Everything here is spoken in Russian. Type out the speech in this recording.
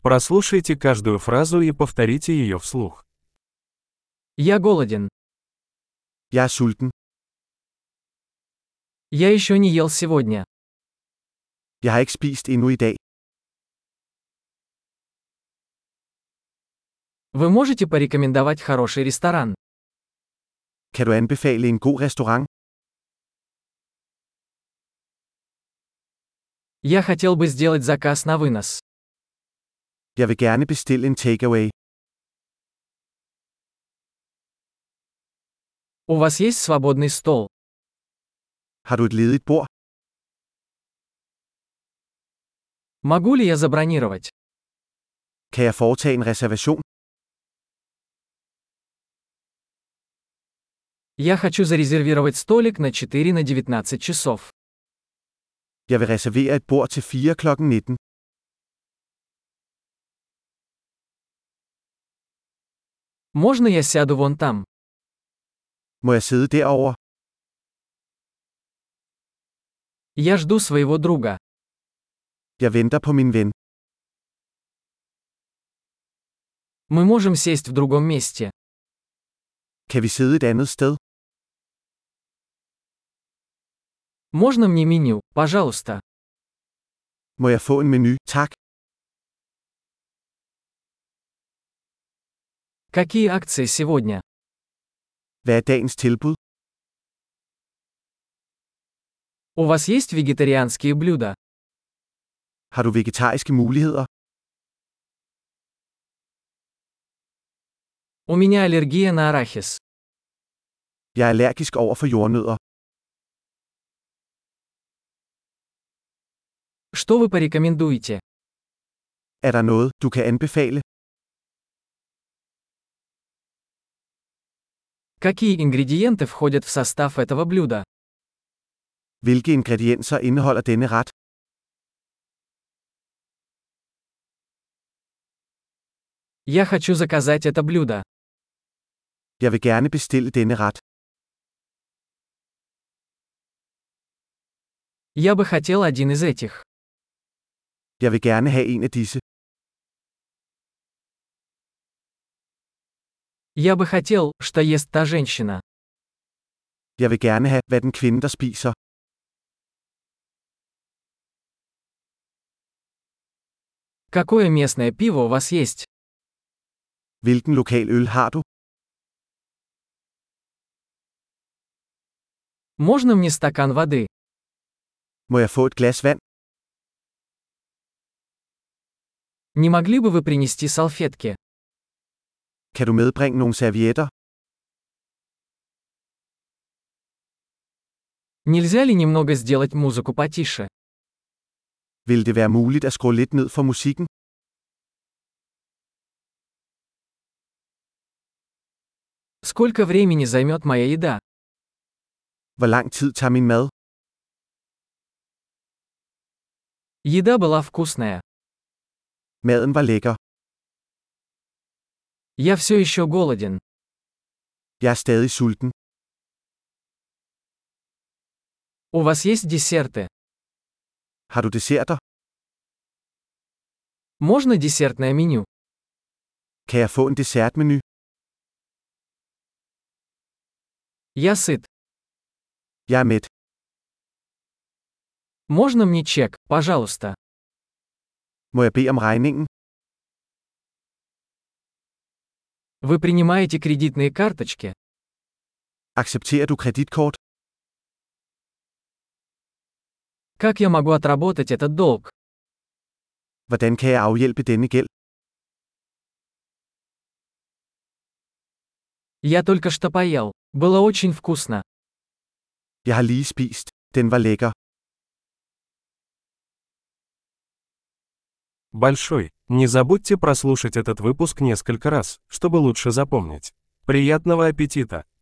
Прослушайте каждую фразу и повторите ее вслух. Я голоден. Jeg er sulten. Я еще не ел сегодня. Jeg har ikke spist endnu i dag. Вы можете порекомендовать хороший ресторан? Kan du anbefale en god restaurant? Я хотел бы сделать заказ на вынос. Jeg vil gerne bestille en takeaway. У вас есть свободный стол? Har du et ledigt bord? Могу ли я забронировать? Kan jeg foretage en reservation? Я хочу зарезервировать столик на 4 на 19 часов. Jeg vil reservere et bord til 4 kl. 19. Можно я сяду вон там? Må jeg sidde derovre? Я жду своего друга. Jeg venter på min ven. Мы можем сесть в другом месте. Kan vi sidde et andet sted? Можно мне меню, пожалуйста? Må jeg få en menu, tak? Какие акции сегодня? Hvad er dagens tilbud? У вас есть вегетарианские блюда? Har du vegetariske muligheder? У меня аллергия на арахис. Jeg er allergisk over for jordnødder. Что вы порекомендуете? Er der noget, du kan anbefale? Какие ингредиенты входят в состав этого блюда? Hvilke ingredienser indeholder denne ret? Я хочу заказать это блюдо. Jeg vil gerne bestille denne ret. Я бы хотел один из этих. Jeg vil gerne have en af disse. Я бы хотел, что ест та женщина. Jeg vil gerne have, hvad den kvinde, der spiser. Какое местное пиво у вас есть? Hvilken lokal øl har du? Можно мне стакан воды? Må jeg få et glas vand? Не могли бы вы принести салфетки? Kan du medbringe nogle servietter? Нельзя ли немного сделать музыку потише? Vil det være muligt at skrue lidt ned for musikken? Сколько времени займет моя еда? Hvor lang tid tager min mad? Еда была вкусная. Maden var lækker. Я все еще голоден. Jeg er stadig sulten. У вас есть десерты? Har du desserter? Можно десертное меню? Kan jeg få en dessertmenu? Я сыт. Jeg er mæt. Можно мне чек, пожалуйста? Må jeg bede om regningen? Вы принимаете кредитные карточки? Accepterer du kreditkort? Как я могу отработать этот долг? Hvordan kan jeg afhjælpe denne gæld? Я только что поел. Было очень вкусно. Jeg har lige spist. Den var lækker. Большой. Не забудьте прослушать этот выпуск несколько раз, чтобы лучше запомнить. Приятного аппетита!